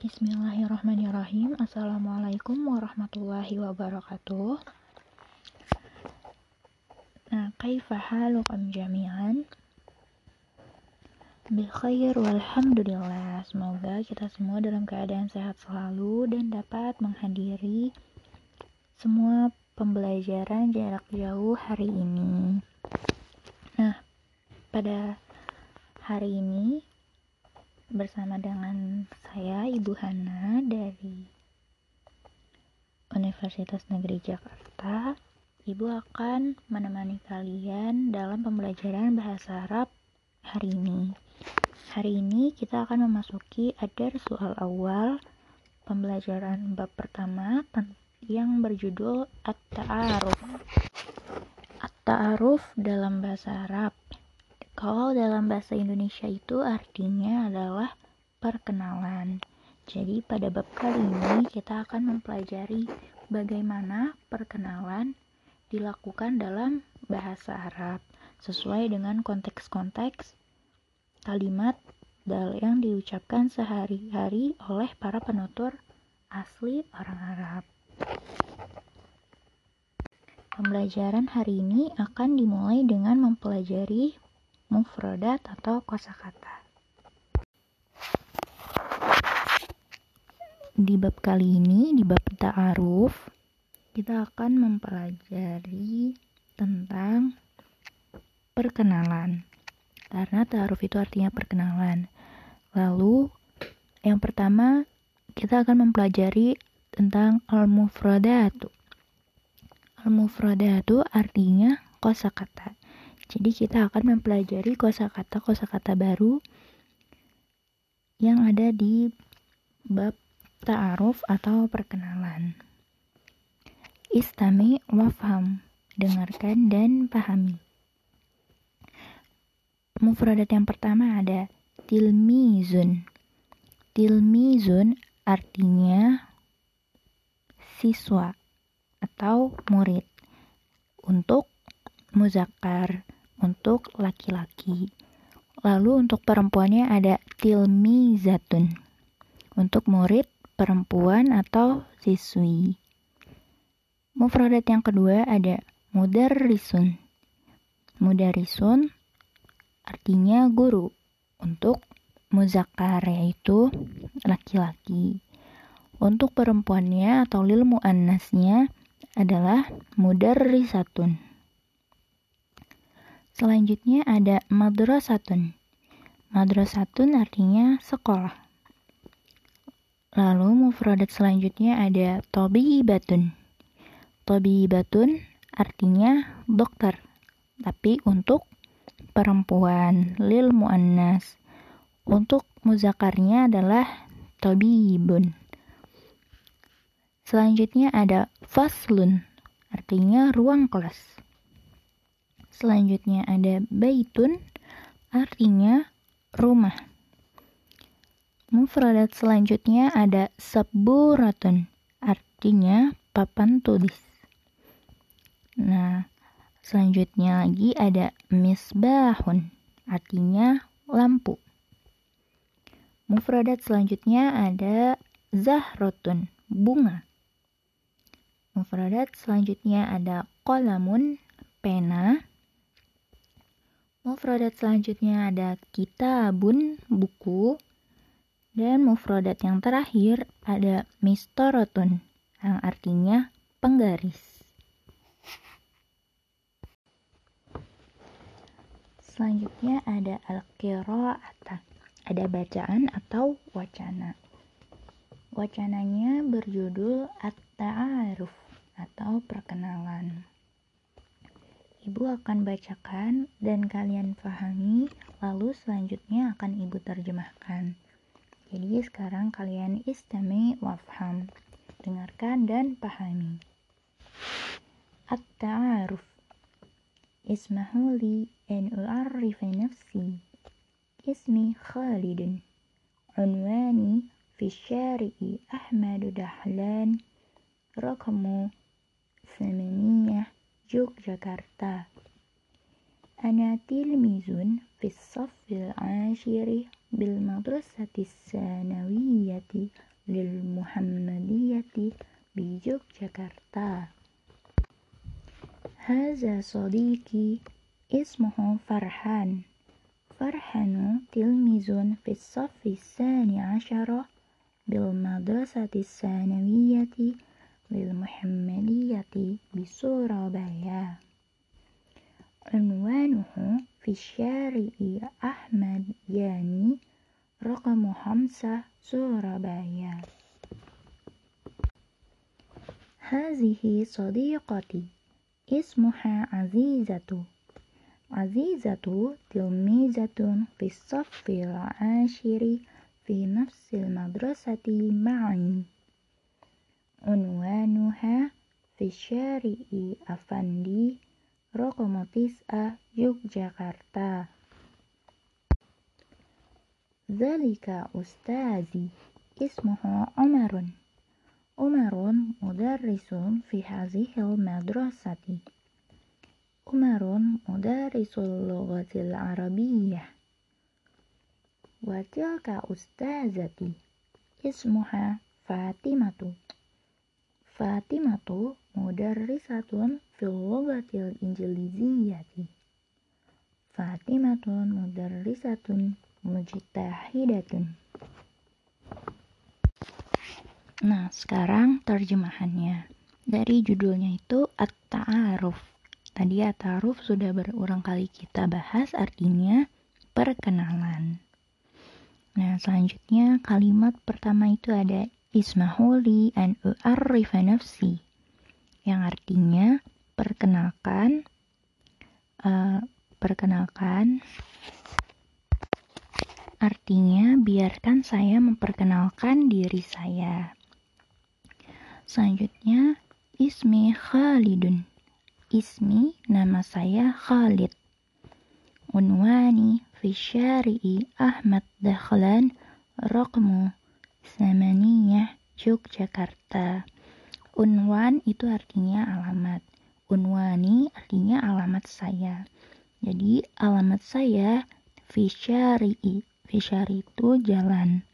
Bismillahirrahmanirrahim. Assalamualaikum warahmatullahi wabarakatuh. Kaifa halukum jami'an? Bil khair walhamdulillah. Semoga kita semua dalam keadaan sehat selalu dan dapat menghadiri semua pembelajaran jarak jauh hari ini. Pada hari ini bersama dengan saya Ibu Hana dari Universitas Negeri Jakarta, Ibu akan menemani kalian dalam pembelajaran bahasa Arab hari ini. Hari ini kita akan memasuki adar soal awal, pembelajaran bab pertama yang berjudul At-Ta'aruf. At-Ta'aruf dalam bahasa Arab. Kalau dalam bahasa Indonesia itu artinya adalah perkenalan. Jadi pada bab kali ini kita akan mempelajari bagaimana perkenalan dilakukan dalam bahasa Arab sesuai dengan konteks-konteks kalimat yang diucapkan sehari-hari oleh para penutur asli orang Arab. Pembelajaran hari ini akan dimulai dengan mempelajari mufradat atau kosakata. Di bab kali ini, di bab ta'aruf, kita akan mempelajari tentang perkenalan. Karena ta'aruf itu artinya perkenalan. Lalu, yang pertama, kita akan mempelajari tentang al-mufradatu. Al-mufradatu artinya kosakata. Jadi kita akan mempelajari kosakata baru yang ada di bab ta'aruf atau perkenalan. Istami wafham, dengarkan dan pahami. Mufradat yang pertama ada tilmizun. Tilmizun artinya siswa atau murid. Untuk muzakkar, untuk laki-laki. Lalu untuk perempuannya ada tilmizatun, untuk murid perempuan atau siswi. Mufradat yang kedua ada mudarrisun. Mudarrisun artinya guru, untuk muzakkar yaitu laki-laki. Untuk perempuannya atau lil muannasnya adalah mudarrisatun. Selanjutnya ada madrasatun. Madrasatun artinya sekolah. Lalu mufradat selanjutnya ada tabibatun. Tabibatun artinya dokter, tapi untuk perempuan, lil muannas. Untuk muzakarnya adalah tabibun. Selanjutnya ada faslun, artinya ruang kelas. Selanjutnya ada baitun, artinya rumah. Mufradat selanjutnya ada saburatun, artinya papan tulis. Selanjutnya lagi ada misbahun, artinya lampu. Mufradat selanjutnya ada zahrotun, bunga. Mufradat selanjutnya ada qalamun, pena. Mufradat selanjutnya ada kitabun, buku. Dan mufradat yang terakhir ada mistorotun, yang artinya penggaris. Selanjutnya ada al-qira'ata, ada bacaan atau wacana. Wacananya berjudul at-ta'aruf atau perkenalan. Ibu akan bacakan dan kalian pahami, lalu selanjutnya akan Ibu terjemahkan. Jadi sekarang kalian istami wafham, dengarkan dan pahami. At-ta'aruf. Ismahu li an u'arrifa nafsi. Ismi Khalidun. Unwani fi syari'i Ahmadu Dahlan. Rakamu 8 Yogyakarta. Ana tilmizun fis saffil ashiri bil madrasatis sanawiyyati للمحمدية بيوجياكرتا. هذا صديقي اسمه فرحان. فرحان تلميذ في الصف 12 بالمدرسة الثانوية للمحمدية بسورابايا. عنوانه في الشارع أحمد يعني رقم 5 سورابايا. هذه صديقتي اسمها عزيزة. عزيزة تلميذة في الصف 10 في نفس المدرسة معي. عنوانها في الشارع أفندي رقم 9 يوجياكرتا. ذلك أستاذي اسمه عمر. عمر مدرس في هذه المدرسة. عمر مدرس اللغة العربية. وتلك أستاذتي اسمها فاطمة. فاطمة مدرسة في اللغة الإنجليزية. فاطمة مدرسة مجتهدة. Nah, sekarang terjemahannya. Dari judulnya itu At-Ta'aruf. Tadi At-Ta'aruf sudah berulang kali kita bahas, artinya perkenalan. Nah, selanjutnya kalimat pertama itu ada Ismahuli an u'arrifa nafsi, yang artinya perkenalkan, artinya biarkan saya memperkenalkan diri saya. Selanjutnya Ismi Khalidun. Ismi, nama saya Khalid. Unwani fi syari'i Ahmad Dahlan Raqmu 8 Yogyakarta. Unwan itu artinya alamat. Unwani artinya alamat saya. Jadi alamat saya fi syari'i. Fi syari' itu jalan.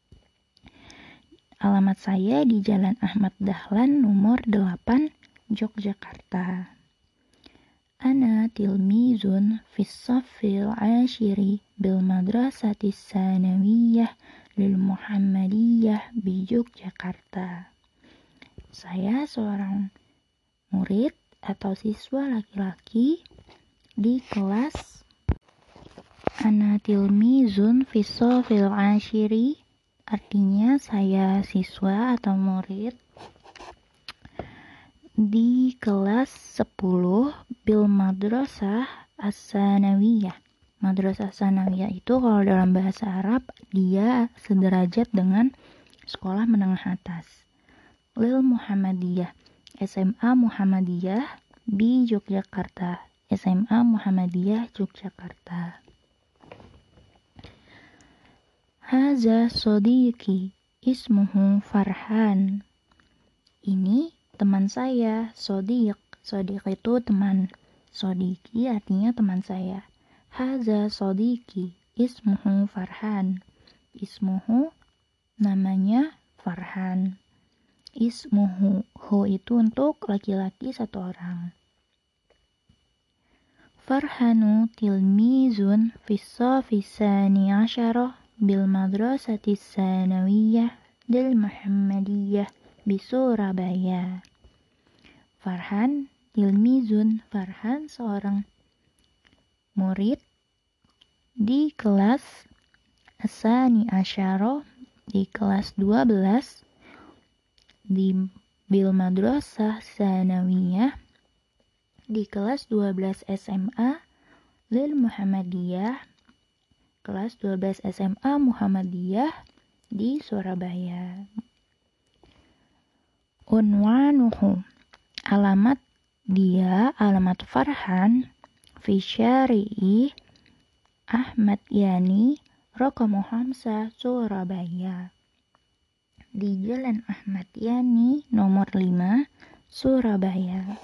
Alamat saya di Jalan Ahmad Dahlan nomor 8 Yogyakarta. Ana tilmizun fi shaffil 10 bil madrasati tsanawiyah lil Muhammadiyah bi Yogyakarta. Saya seorang murid atau siswa laki-laki di kelas. Ana tilmizun fi shaffil 10, artinya saya siswa atau murid di kelas 10 bil madrasah as-sanawiyah. Madrasah sanawiyah itu kalau dalam bahasa Arab dia sederajat dengan sekolah menengah atas. Lil Muhammadiyah, SMA Muhammadiyah di Yogyakarta. SMA Muhammadiyah Yogyakarta. Haza sodiqi ismuhu Farhan. Ini teman saya, sodiq. Sodiq itu teman. Sodiqi artinya teman saya. Haza sodiqi ismuhu Farhan. Ismuhu namanya Farhan. Ismuhu, hu itu untuk laki-laki satu orang. Farhanu tilmizun fi shafi 12 bil madrasati tsanawiyah lil Muhammadiyah bi Surabaya. Farhan tilmizun, Farhan seorang murid di kelas Asani Asyaro, di kelas 12 di bil madrasah tsanawiyah, di kelas 12 SMA lil Muhammadiyah, kelas 12 SMA Muhammadiyah di Surabaya. Unwanuhu, alamat dia, alamat Farhan fi syari'i Ahmad Yani Raqam 5 Surabaya. Di Jalan Ahmad Yani nomor 5 Surabaya.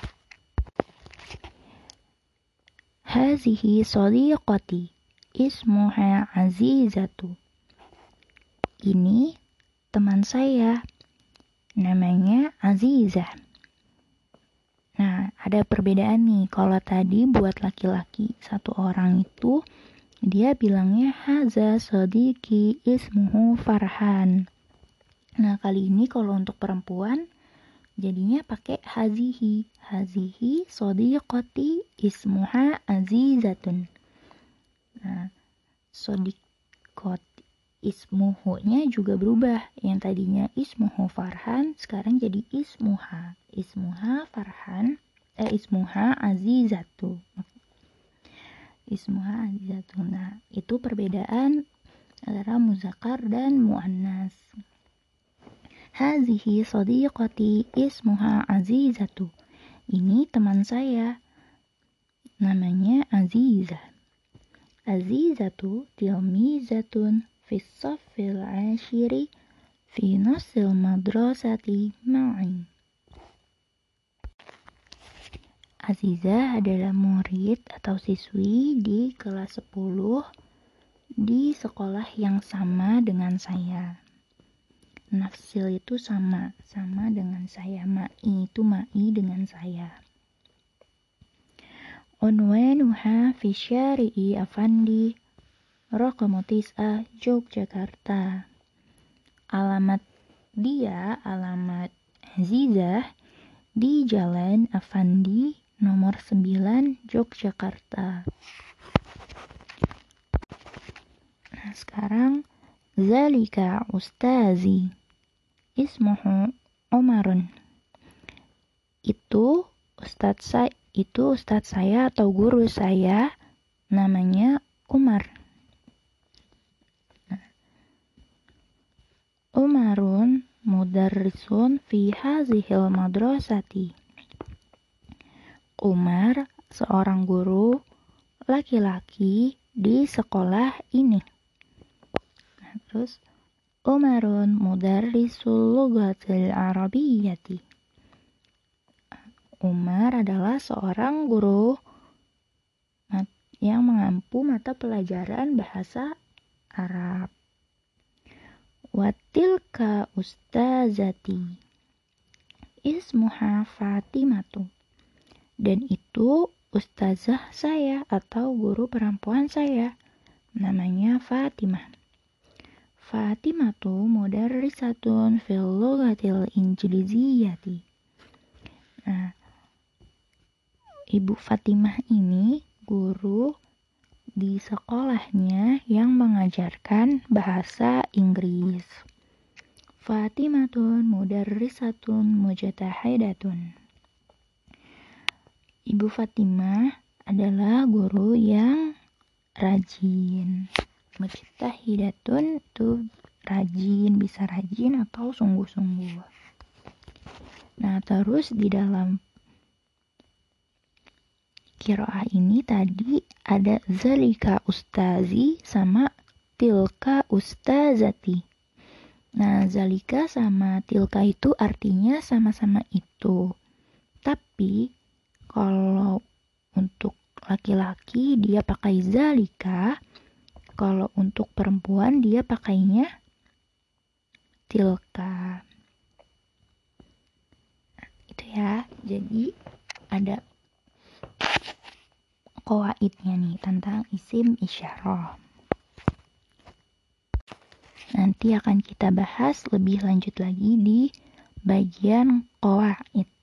Hazihi sadiqati ismuha Azizatu. Ini teman saya, namanya Azizah. Nah, ada perbedaan nih. Kalau tadi buat laki-laki, satu orang itu dia bilangnya haza sodiki ismuhu Farhan. Nah, kali ini kalau untuk perempuan jadinya pakai hazihi. Hazihi sodiqoti ismuha Azizatun. Nah, sodiqot ismuhu-nya juga berubah. Yang tadinya ismuhu Farhan sekarang jadi ismuha. Ismuha Farhan, ismuha Azizatu. Ismuha Azizatu. Nah, itu perbedaan antara muzakkar dan muannas. Hazihi sadiqati ismuha Azizatu. Ini teman saya, namanya Azizah. Azizatu tilmizatun fis saffil ashiri fi nasil madrasati ma'i. Azizah adalah murid atau siswi di kelas 10 di sekolah yang sama dengan saya. Nafsil itu sama dengan saya. Ma'i itu ma'i dengan saya. Unwanuha fi syari'i Afandi Raqamu Tis'ah Yogyakarta. Alamat Azizah di Jalan Afandi nomor 9 Yogyakarta. Nah, sekarang zalika ustazi ismuhu Umarun. Itu ustadz saya atau guru saya, namanya Umar. Umarun mudarrisun fi hazihil madrasati. Umar seorang guru laki-laki di sekolah ini. Nah, terus Umarun mudarrisul lughatil arabiyyati. Umar adalah seorang guru yang mengampu mata pelajaran bahasa Arab. Watilka ustazati ismuha Fatimatu. Dan itu ustazah saya atau guru perempuan saya, namanya Fatimah. Fatimatu mudarrisatun fil lughatil injiliziyyati. Nah, Ibu Fatimah ini guru di sekolahnya yang mengajarkan bahasa Inggris. Fatimatun mudarrisatun mujtahidatun. Ibu Fatimah adalah guru yang rajin. Mujtahidatun itu rajin, bisa rajin atau sungguh-sungguh. Nah, terus di dalam qiraah ini tadi ada zalika ustazi sama tilka ustazati. Nah, zalika sama tilka itu artinya sama-sama itu. Tapi kalau untuk laki-laki dia pakai zalika, kalau untuk perempuan dia pakainya tilka. Itu ya. Jadi ada qawaidnya nih tentang isim isyarah. Nanti akan kita bahas lebih lanjut lagi di bagian qawaid.